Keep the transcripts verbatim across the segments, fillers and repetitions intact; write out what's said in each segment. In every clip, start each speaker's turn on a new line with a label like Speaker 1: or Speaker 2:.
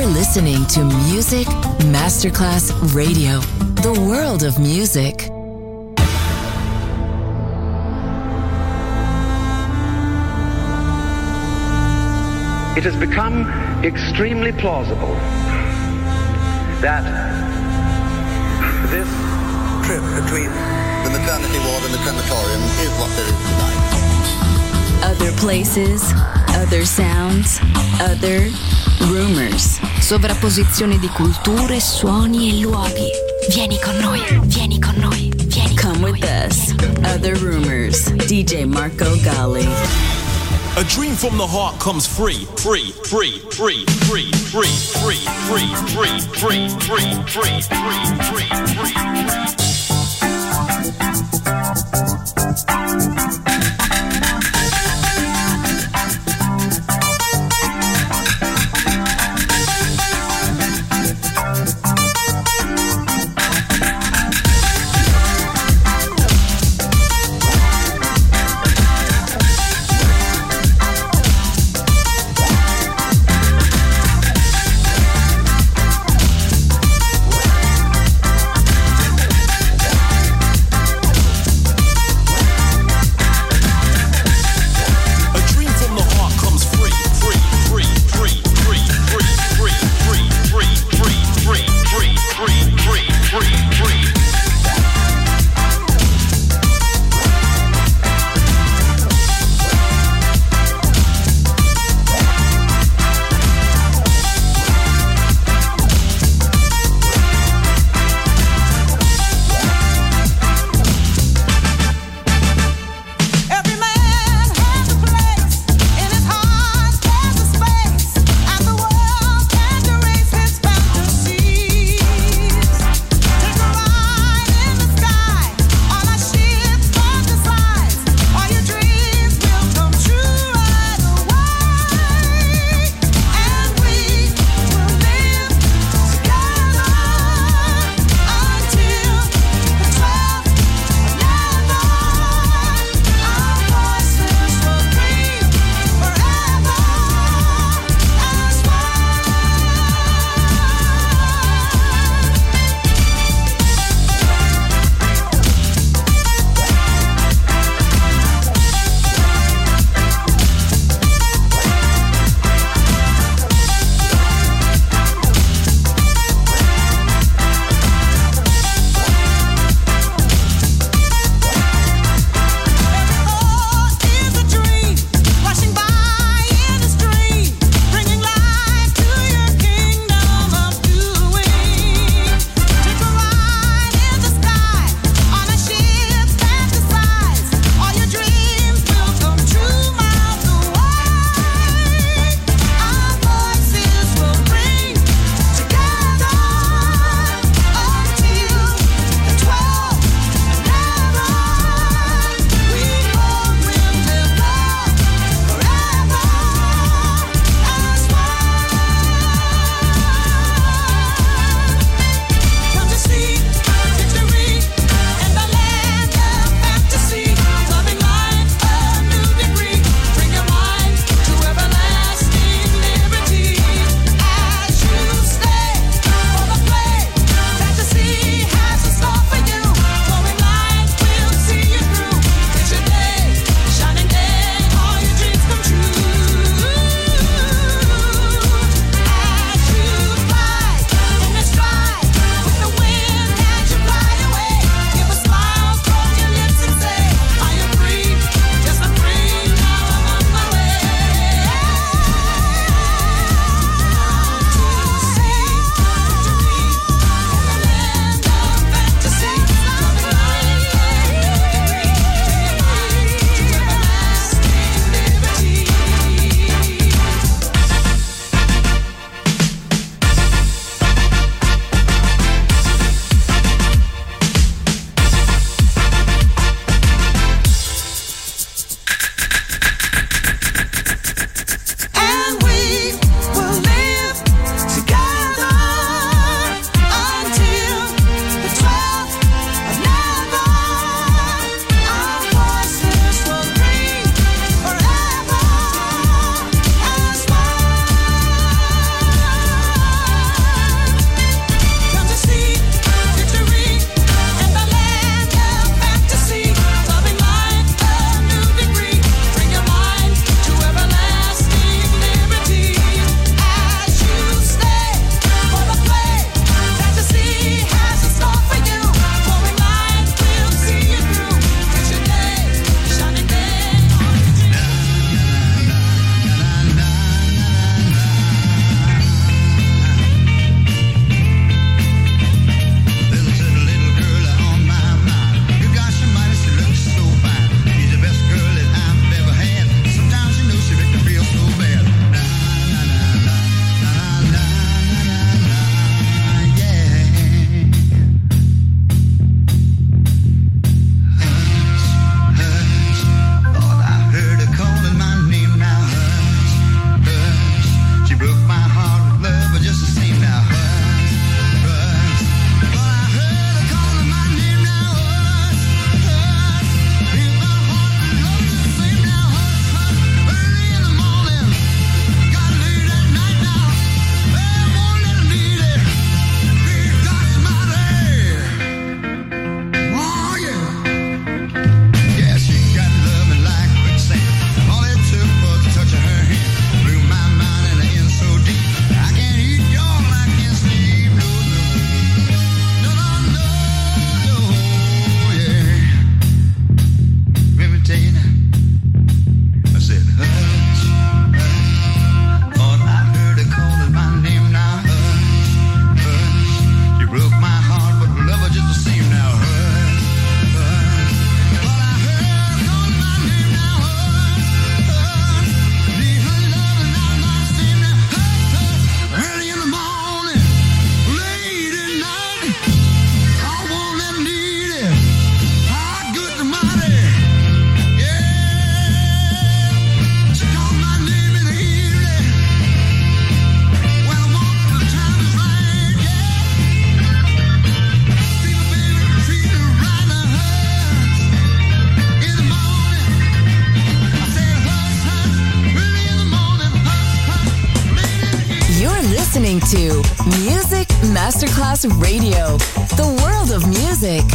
Speaker 1: You're listening to Music Masterclass Radio, the world of music.
Speaker 2: It has become extremely plausible that this
Speaker 3: trip between the maternity ward and the crematorium is what there is tonight.
Speaker 1: Other places, other sounds, other rumors.
Speaker 4: Sovrapposizione di culture, suoni e luoghi. Vieni con noi, vieni con noi, vieni
Speaker 1: Come
Speaker 4: con
Speaker 1: with
Speaker 4: noi.
Speaker 1: us. Other rumors. D J Marco Gally.
Speaker 5: A dream from the heart comes free, free, free, free, free, free, free, free, free, free, free, free, free, free, free.
Speaker 1: listening to Music Masterclass Radio, the world of music.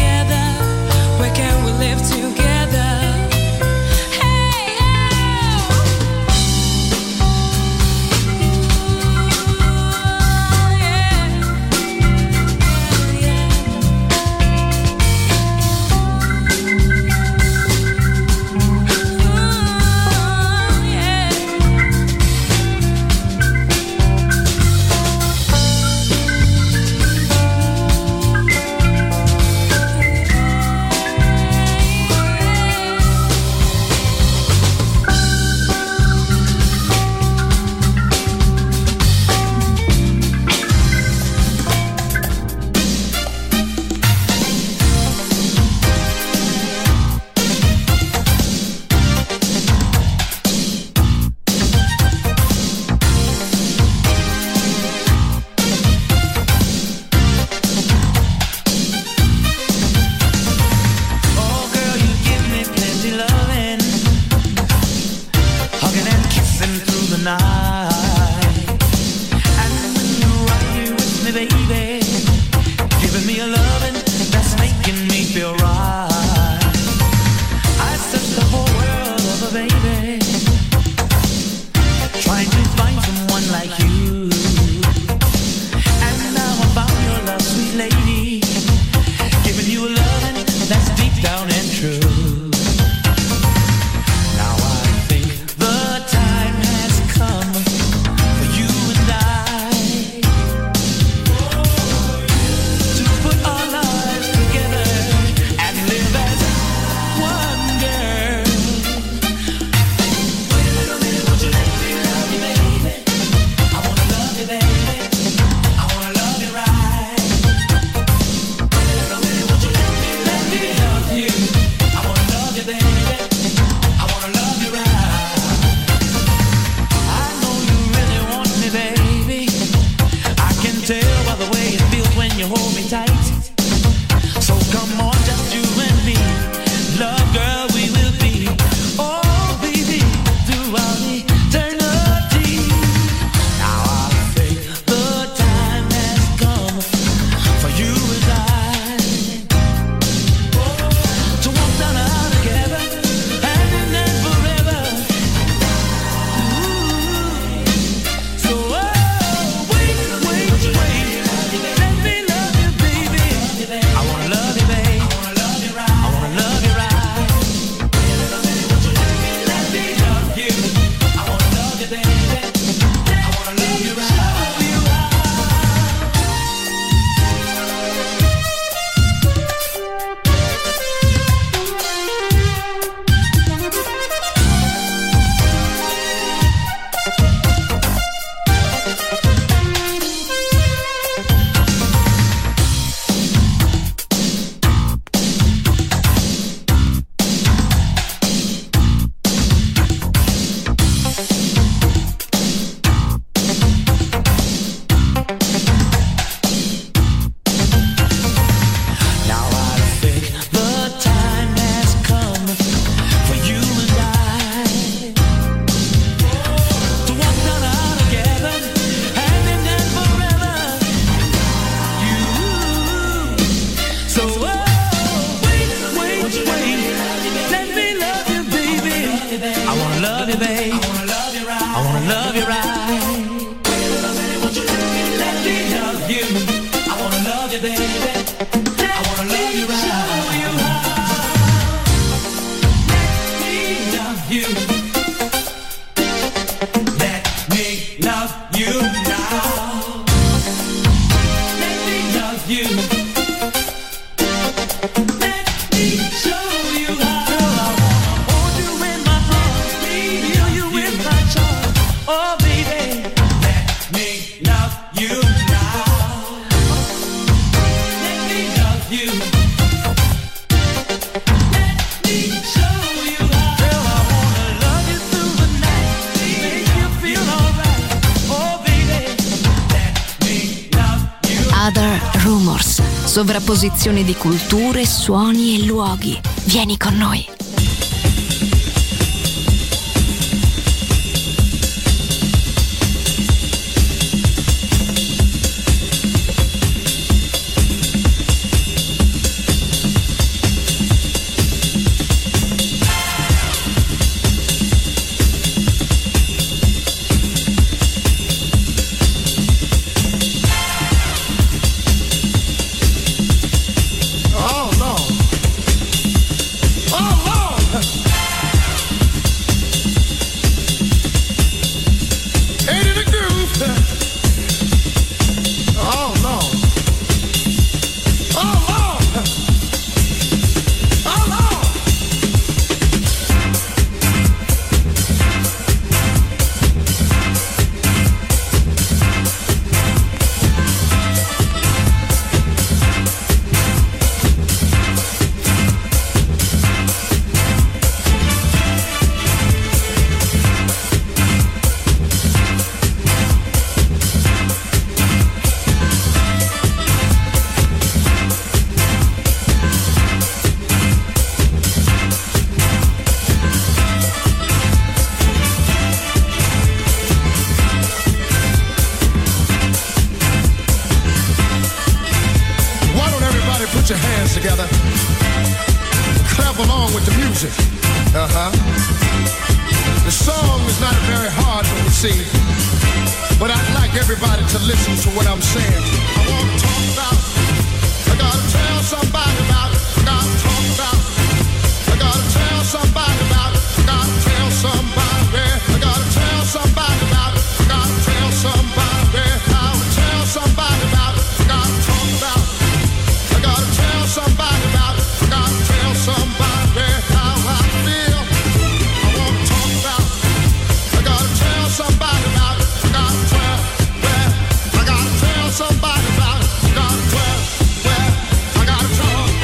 Speaker 6: Live together. Hey, oh. love you, babe. I wanna love you right. I wanna love you right. Won't you let me, let me love you? I wanna love you, baby. I wanna love you right. Show you how. Let me love you. Let me love you now. Let me love you. Let me show you how. I wanna hold you in my arms, feel you in my charms. Oh baby, let me love you now. Let me love you. Let me show you how. Girl, I wanna love you through the night, make you feel alright. Oh baby, let me love you.
Speaker 4: Other Rumors. Sovrapposizione di culture, suoni e luoghi. Vieni con noi.
Speaker 7: Oh, Lord. Oh, Lord. Ain't it a groove? Oh, Lord. Oh, Lord. Oh, Lord. Why don't everybody put your hands together? Clap along with the music. Uh-huh. The song is not very hard to receive, but I'd like everybody to listen to what I'm saying. I want to talk about, I gotta tell somebody about it. I gotta talk about, I gotta tell somebody about it. I gotta tell somebody, I gotta tell somebody about it. I gotta tell somebody, I will tell somebody about it. I gotta talk about, I gotta tell somebody about it. I gotta tell somebody how I feel. I want to talk about, I gotta tell somebody about it. I gotta tell, well, I gotta tell somebody about it. I gotta tell, well, I gotta talk.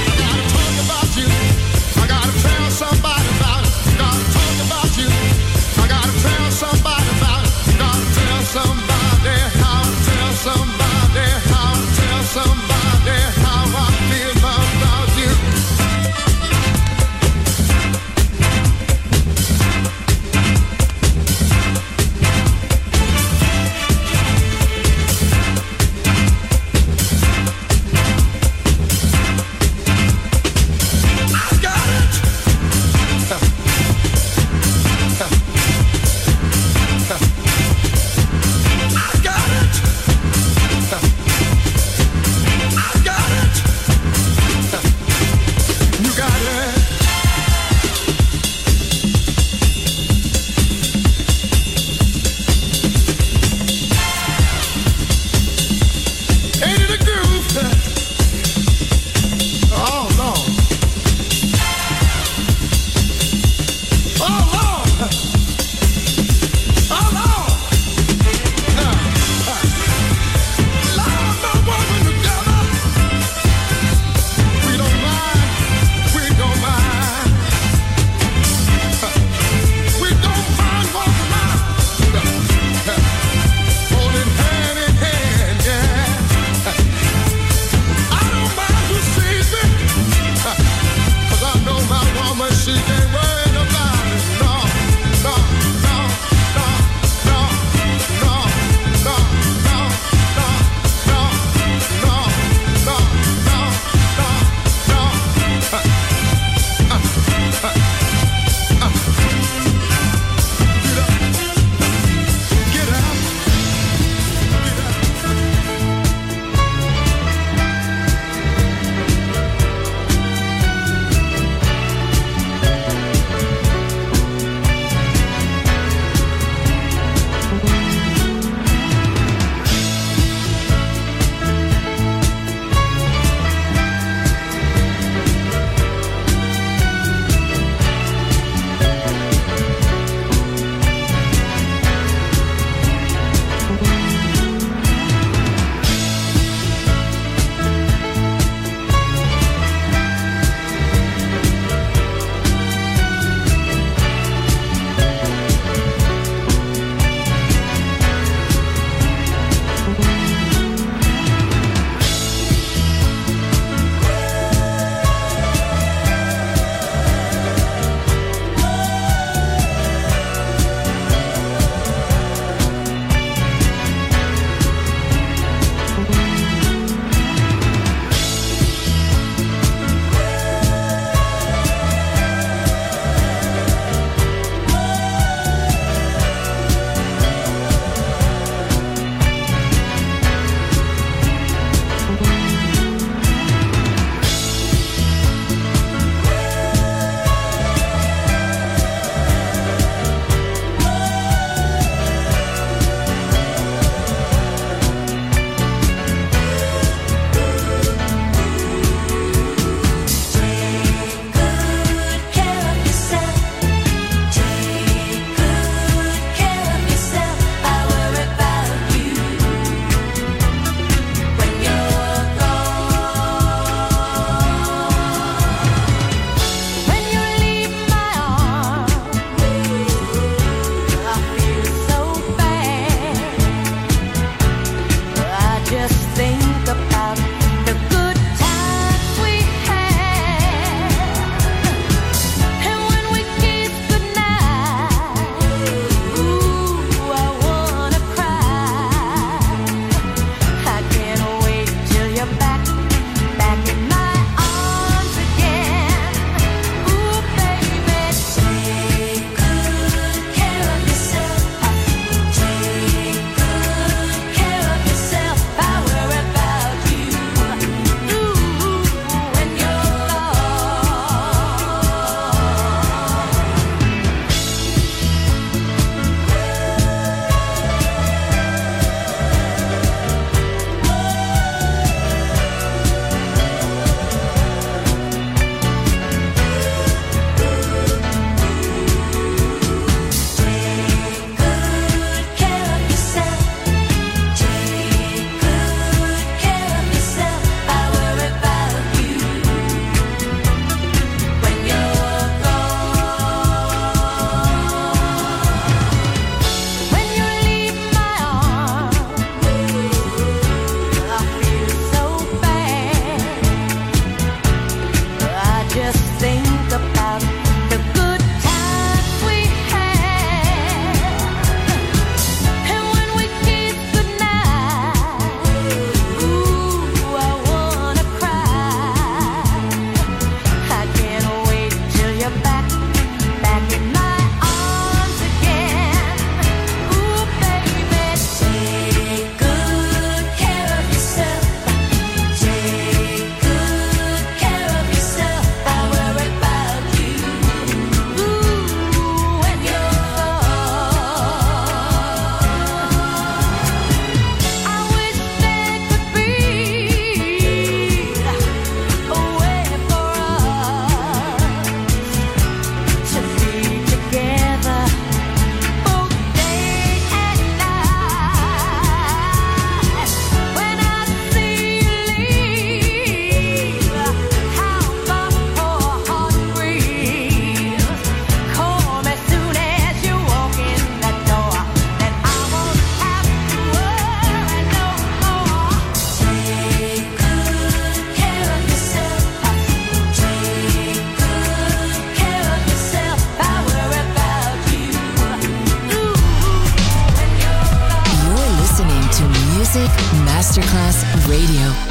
Speaker 1: Radio.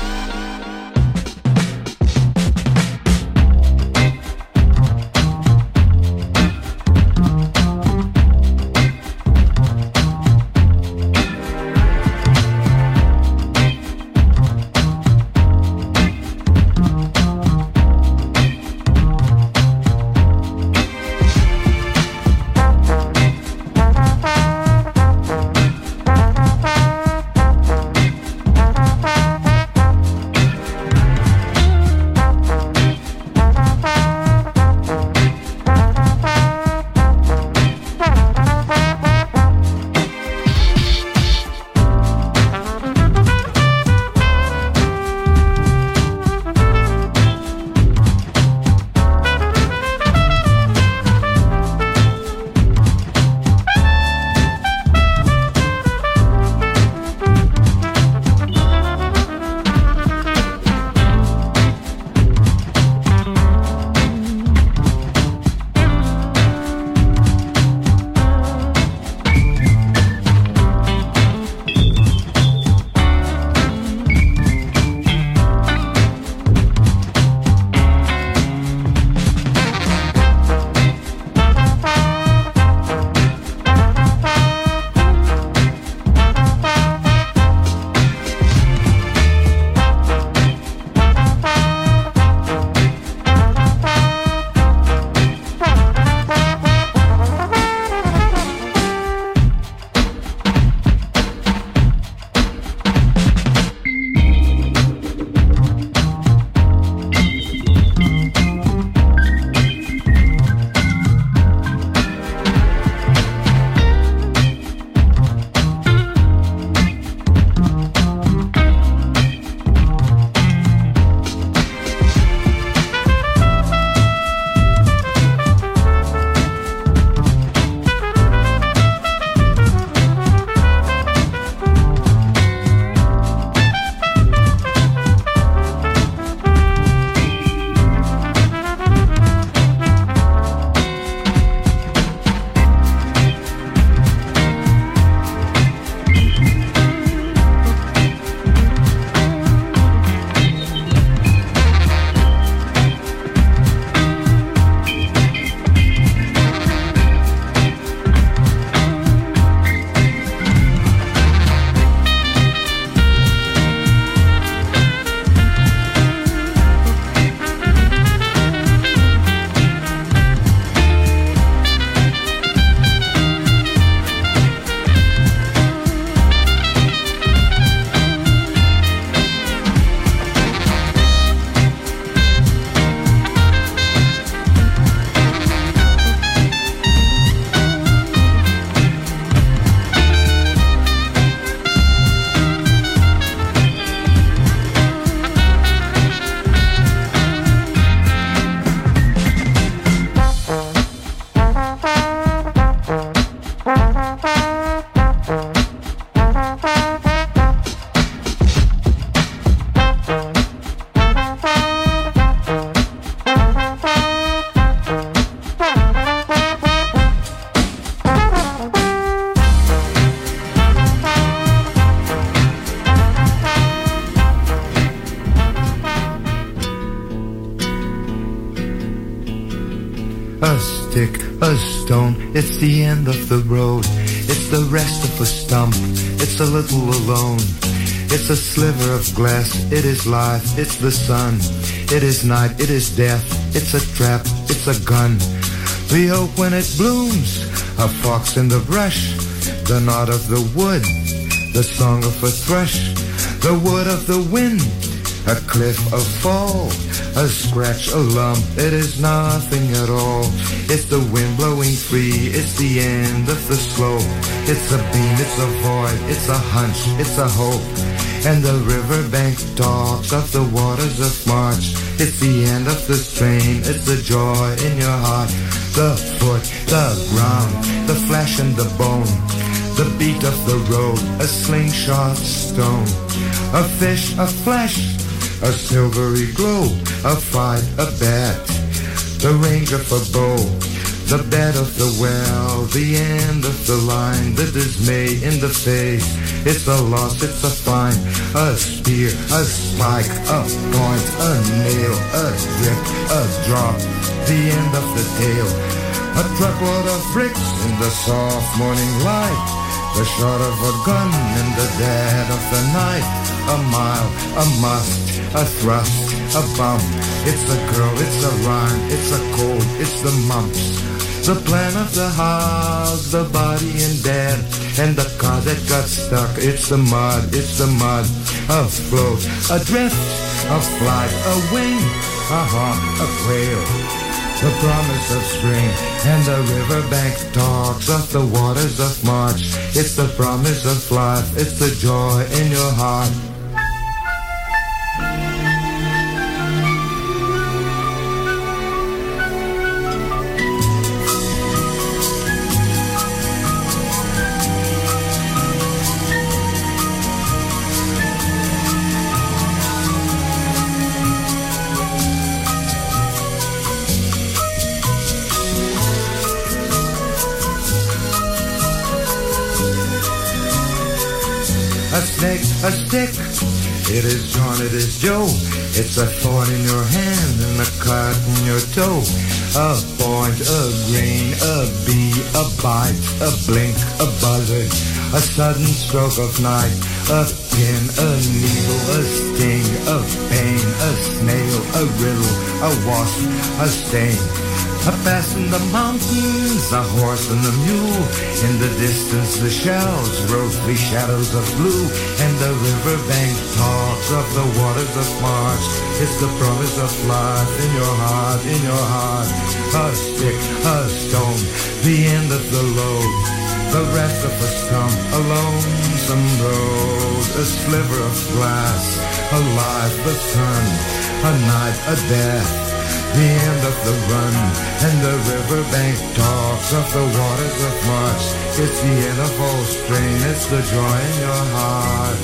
Speaker 8: A stick, a stone, it's the end of the road. It's the rest of a stump, it's a little alone. It's a sliver of glass, it is life, it's the sun. It is night, it is death, it's a trap, it's a gun. The oak when it blooms, a fox in the brush. The knot of the wood, the song of a thrush. The wood of the wind, a cliff, a fall. A scratch, a lump, it is nothing at all. It's the wind blowing free, it's the end of the slope. It's a beam, it's a void, it's a hunch, it's a hope. And the riverbank talks of the waters of March. It's the end of the strain, it's the joy in your heart. The foot, the ground, the flesh and the bone. The beat of the road, a slingshot stone. A fish, a flesh, a silvery glow, a fight, a bat, the range of a bow, the bed of the well, the end of the line, the dismay in the face. It's a loss, it's a fine, a spear, a spike, a point, a nail, a drip, a drop, the end of the tail. A truckload of bricks in the soft morning light, the shot of a gun in the dead of the night. A mile, a must, a thrust, a bump. It's a girl, it's a rhyme, it's a cold, it's the mumps. The plan of the house, the body in bed, and the car that got stuck. It's the mud, it's the mud. A float, a drift, a flight, a wing, a hawk, a quail. The promise of spring, and the riverbank talks of the waters of March. It's the promise of life, it's the joy in your heart. A snake, a stick, it is John, it is Joe. It's a thorn in your hand and a cut in your toe. A point, a grain, a bee, a bite, a blink, a buzzard, a sudden stroke of night. A pin, a needle, a sting, a pain, a snail, a riddle, a wasp, a stain. A pass in the mountains, a horse and a mule. In the distance the shells, rosy shadows of blue. And the riverbank talks of the waters of March. It's the promise of life in your heart, in your heart. A stick, a stone, the end of the load. The rest of a stump, a lonesome road. A sliver of glass, a life, a sun, a night, a death. The end of the run, and the riverbank talks of the waters of March. It's the end of all strain, it's the joy in your heart.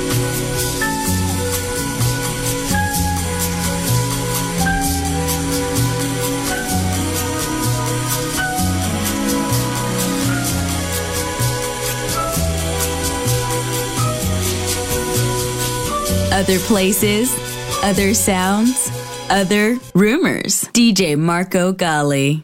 Speaker 4: Other places, other sounds, other rumors. D J Marco Gally.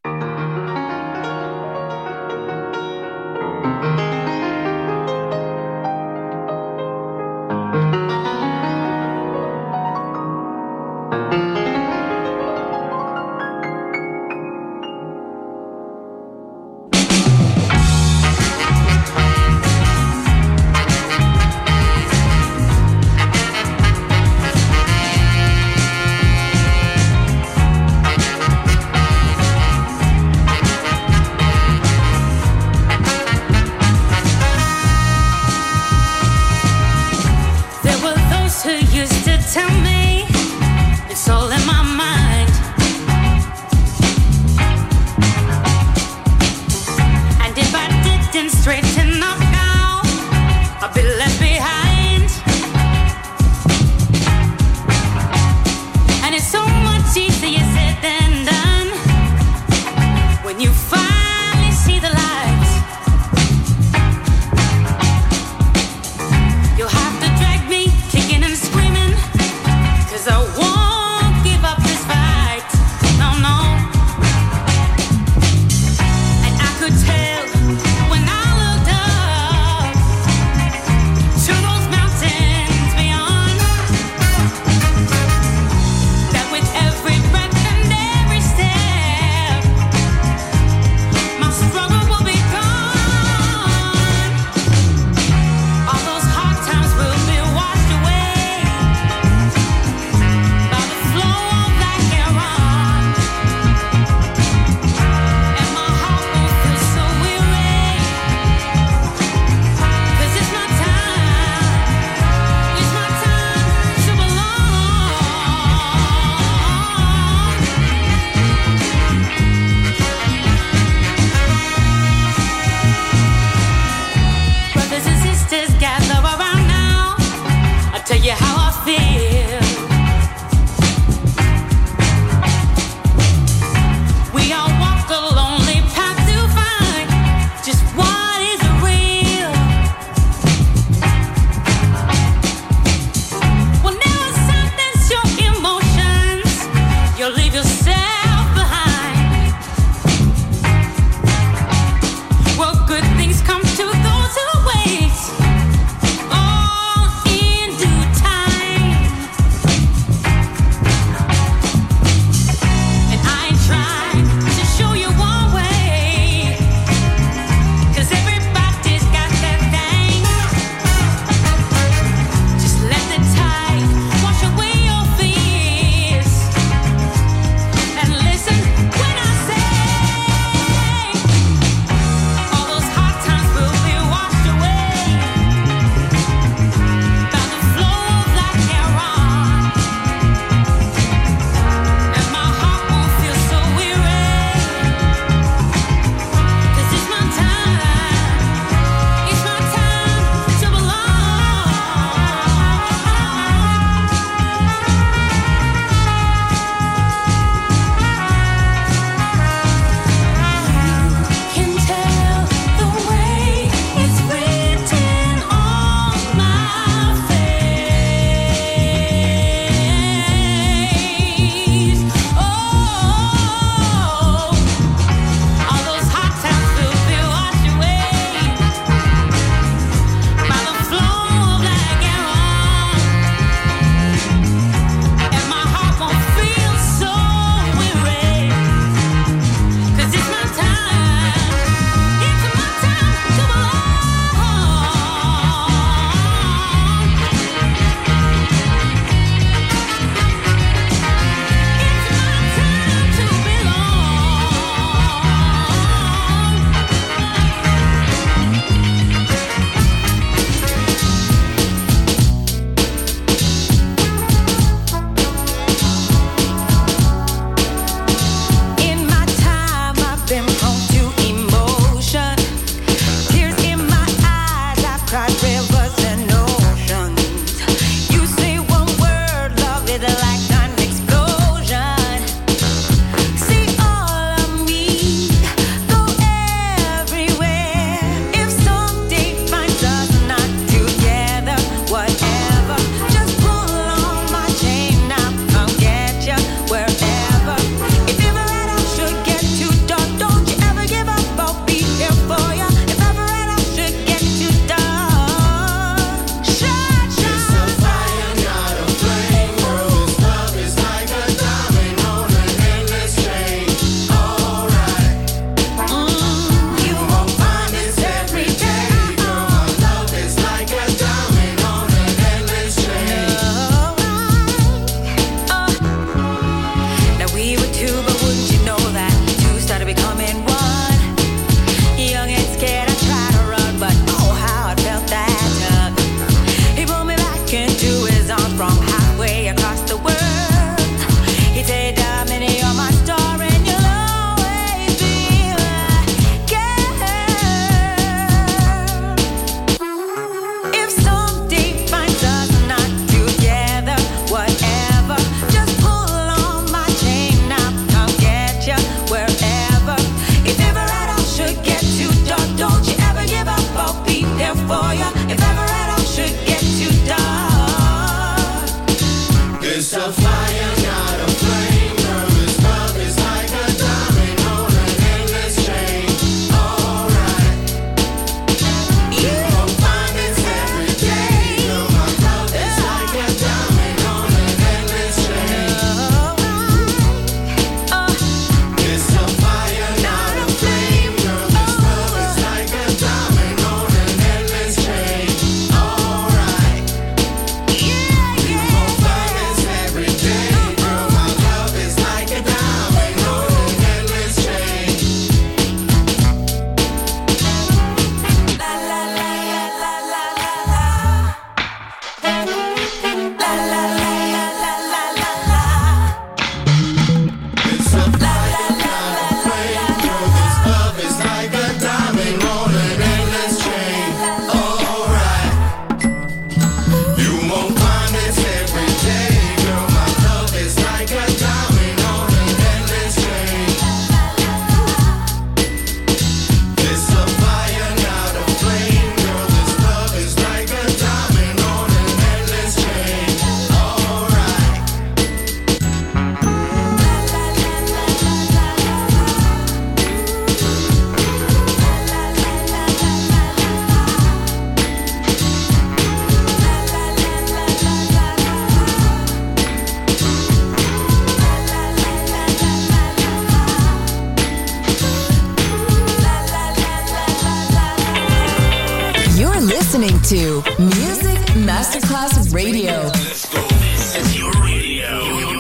Speaker 1: to Music Masterclass Radio.
Speaker 5: Let's go. This is your radio.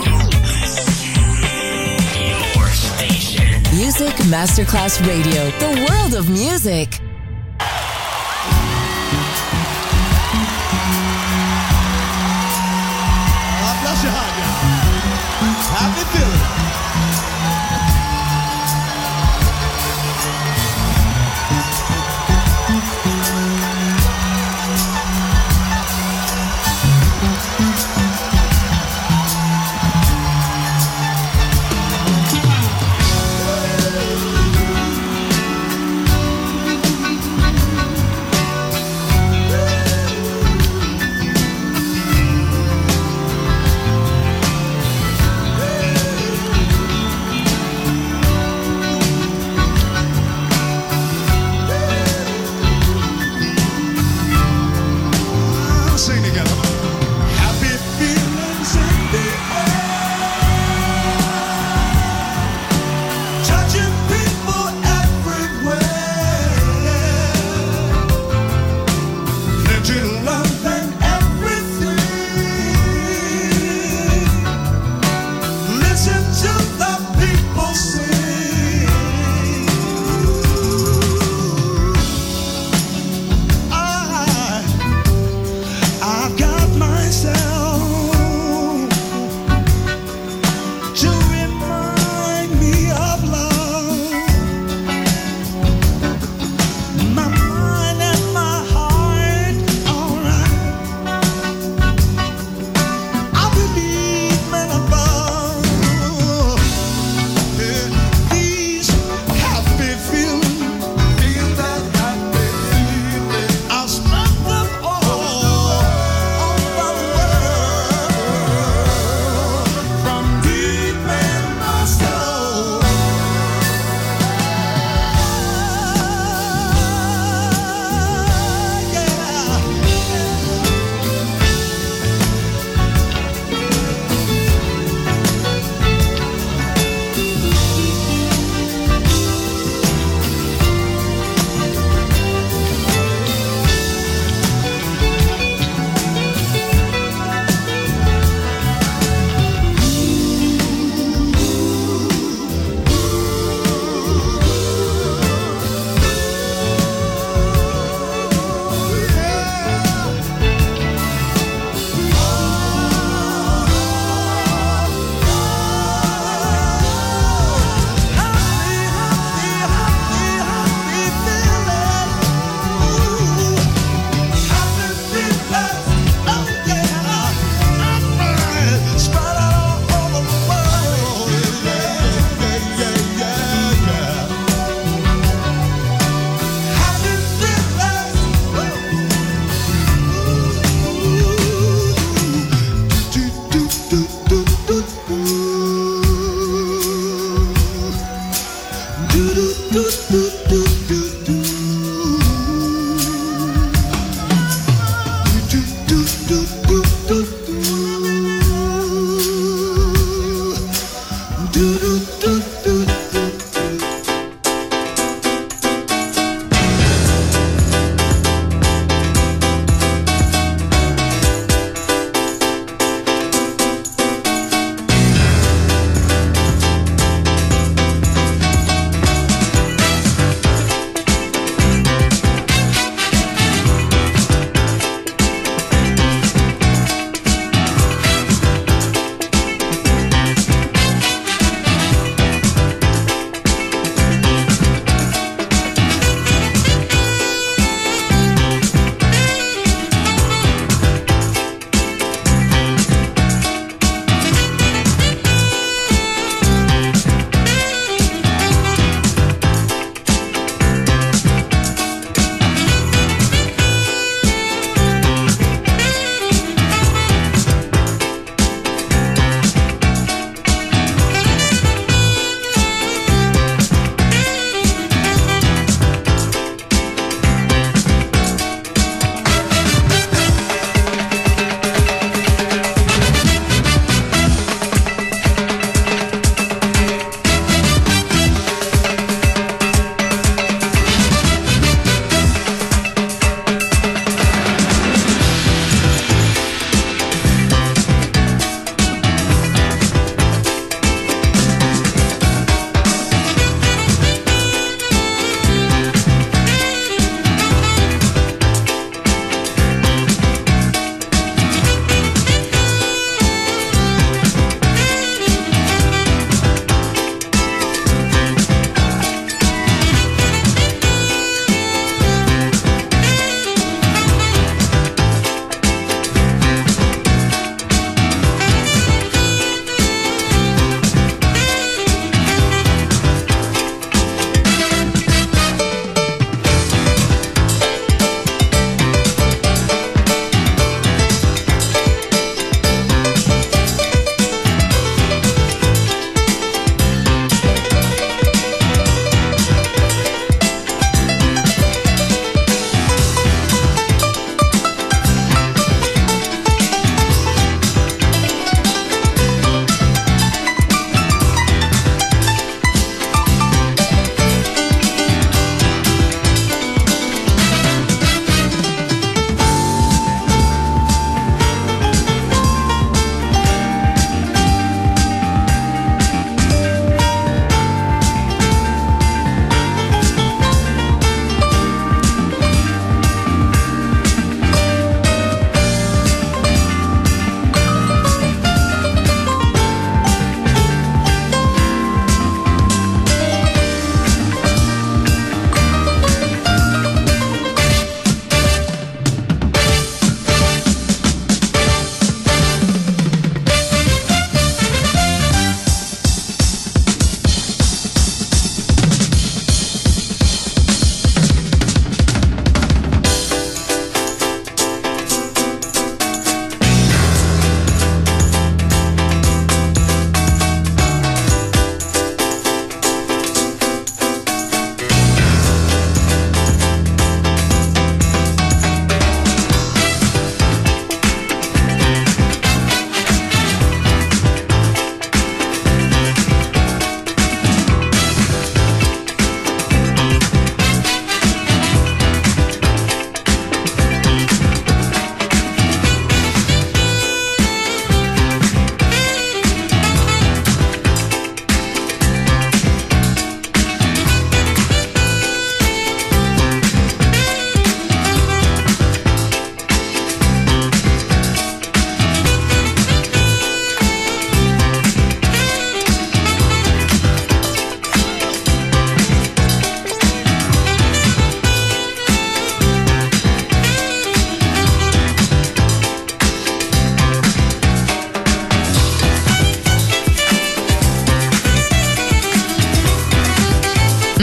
Speaker 5: Your station.
Speaker 1: Music Masterclass Radio. The world of music.
Speaker 9: God bless your heart, y'all. Happy feeling.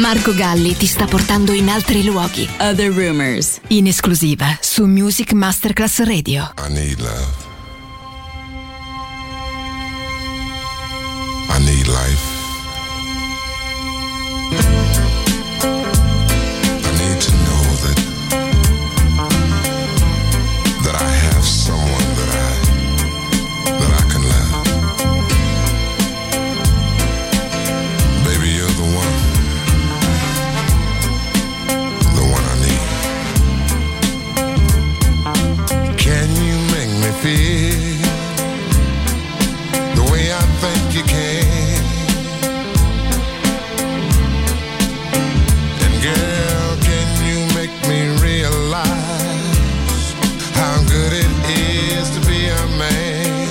Speaker 4: Marco Galli ti sta portando in altri luoghi. Other Rumors, in esclusiva su Music Masterclass Radio.
Speaker 10: I need love. I need life. I need to know that that I have someone that I that I can love. Baby, you're the one. The one I need. Can you make me feel the way I think you can? And girl, can you make me realize how good it is to be a man?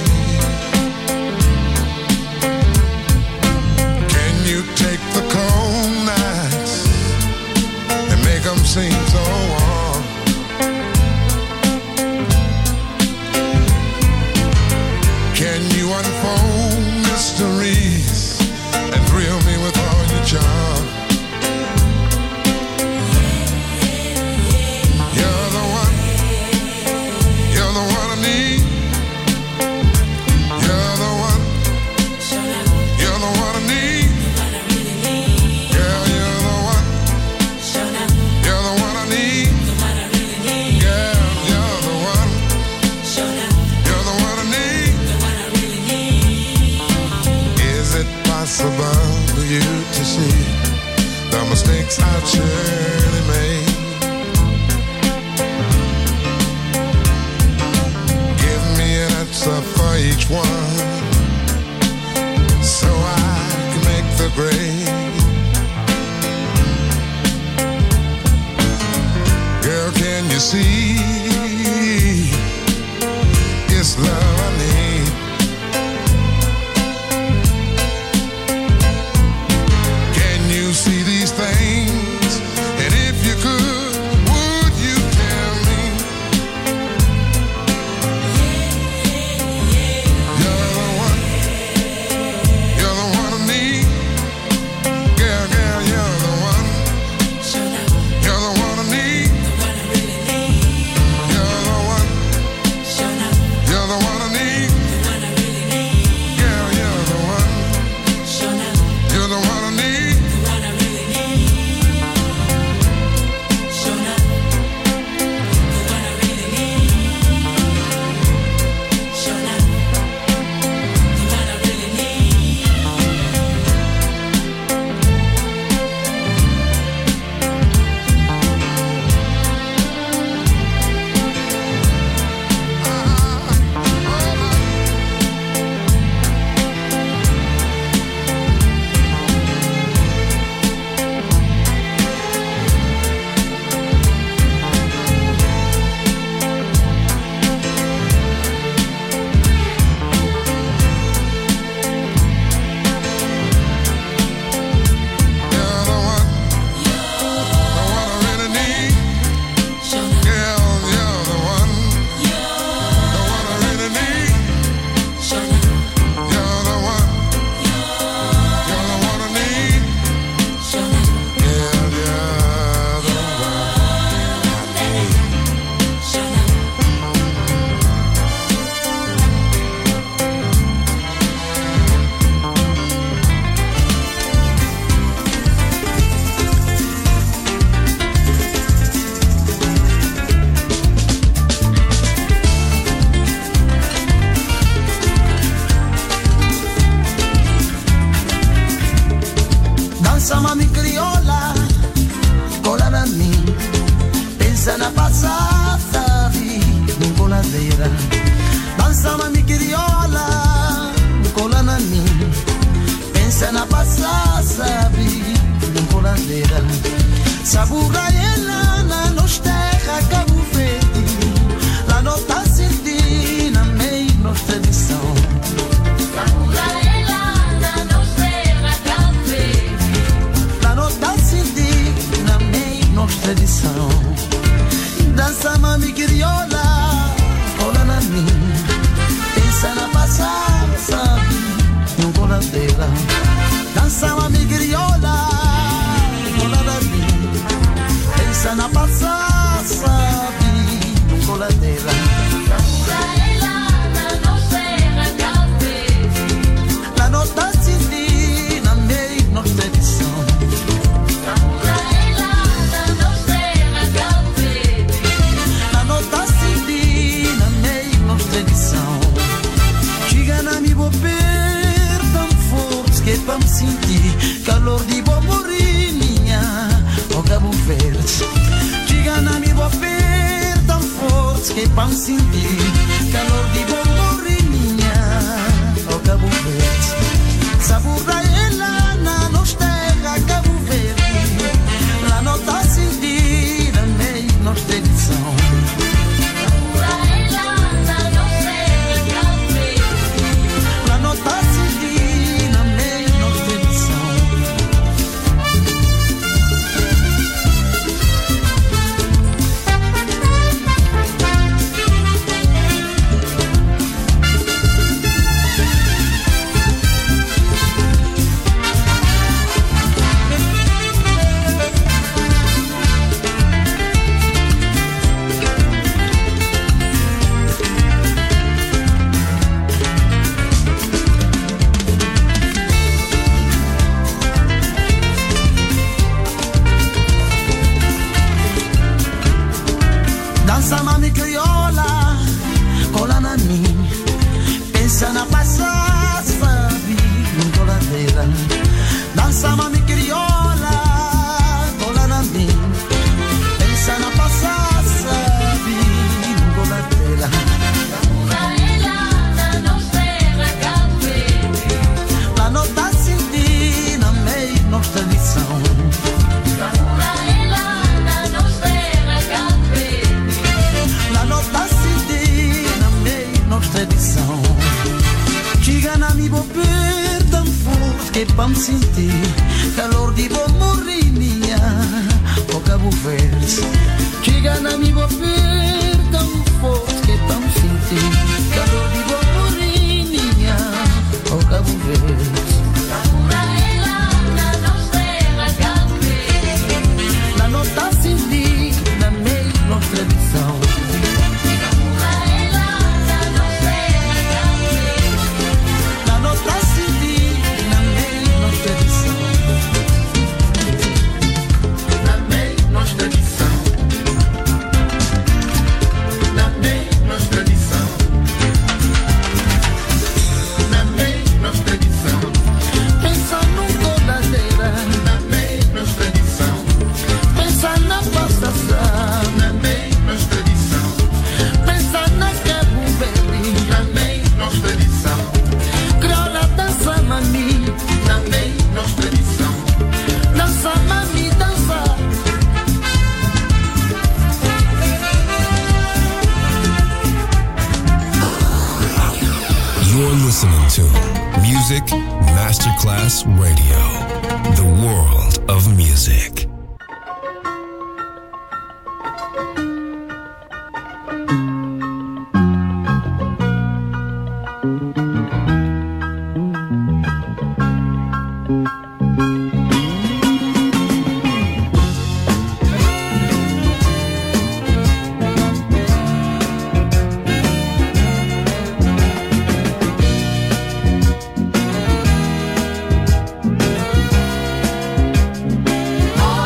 Speaker 10: Can you take the cold nights and make them seem so warm? Can you unfold mysteries and thrill me with all your charm? You're the one, you're the one I need. You're the one, you're the one I need. Girl, you're the one, you're the one I need. Girl, you're the one, you're the one I need. Is it possible for you to see the mistakes I've surely made? Give me an answer for each one so I can make the grade. Girl, can you see it's love I need? Can you see these things? And if you could, would you tell me? You're the one, you're the one I need. Girl, girl, you're the one, you're the one I need. You're the one, you're the one I need. Girl, you're the one, you're the one I need. You're the one, the one I really need. Girl, you're the one, the one I really need. You're the one, you're the one I need. Girl, you're the one I need.
Speaker 11: Danza mami criolla, con la mia, pensa una passata di con la vera. Danza mami criolla, con la mia, pensa una passata di con la vera. Sabura e la nostra Cabo Verde, la nota sentina mei nostra edição. Nostra edição. Dança mami criolla, cola na minha, pensa na passada, sabe, não cola dela. Dança mami criolla, cola Verde. Diga-me vou per tão forte que pão sentir calor de bom morrer minha o Cabo Verde. Sabura ela na nos terra Cabo Verde. La nota sentida meio nos tradição. Sabura ela na nos terra Cabo Verde. La nota sentida meio nos tradição. Danza mami criolla, cola na mim, pensa na passagem, sabe, não tô la vera. Danza mami criolla, cola na mim, pensa na passagem, sabe, não tô la vera. La nota sentina meio nostra lição. La nota sentina meio nostra edição. Chega mi vou per tão forte que pam sentir calor de bom morrer minha o Cabo Verde. Chega mi vou per tão forte que pam sentir calor de bom morrer minha o Cabo Verde. La nota sentina meio nostra edição.
Speaker 12: Listening to Music Masterclass Radio, the world of music.
Speaker 6: Oh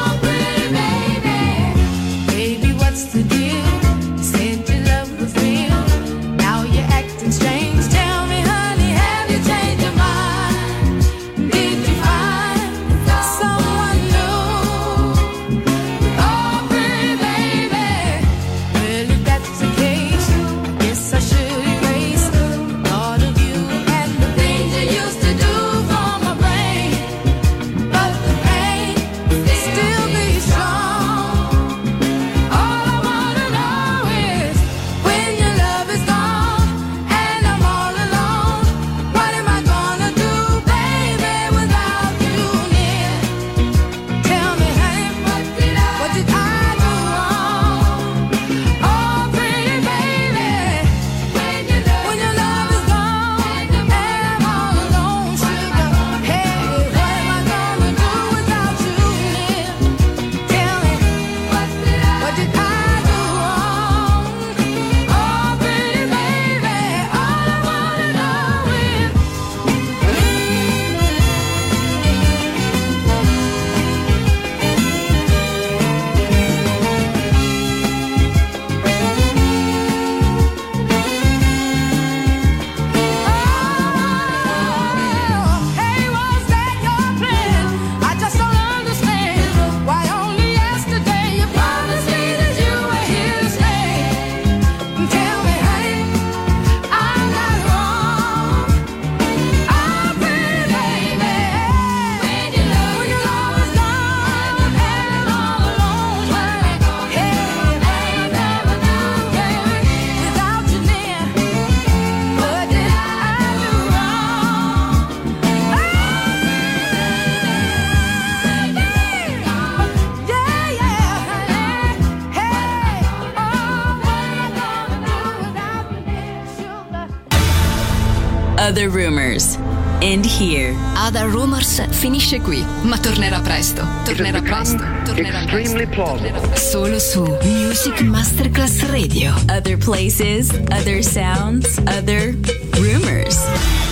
Speaker 1: Other Rumors. End here.
Speaker 4: Other Rumors finisce qui, ma tornerà presto. Tornerà presto. Tornerà
Speaker 2: Extremely plausible.
Speaker 4: Solo su Music Masterclass Radio.
Speaker 1: Other places, other sounds, other rumors.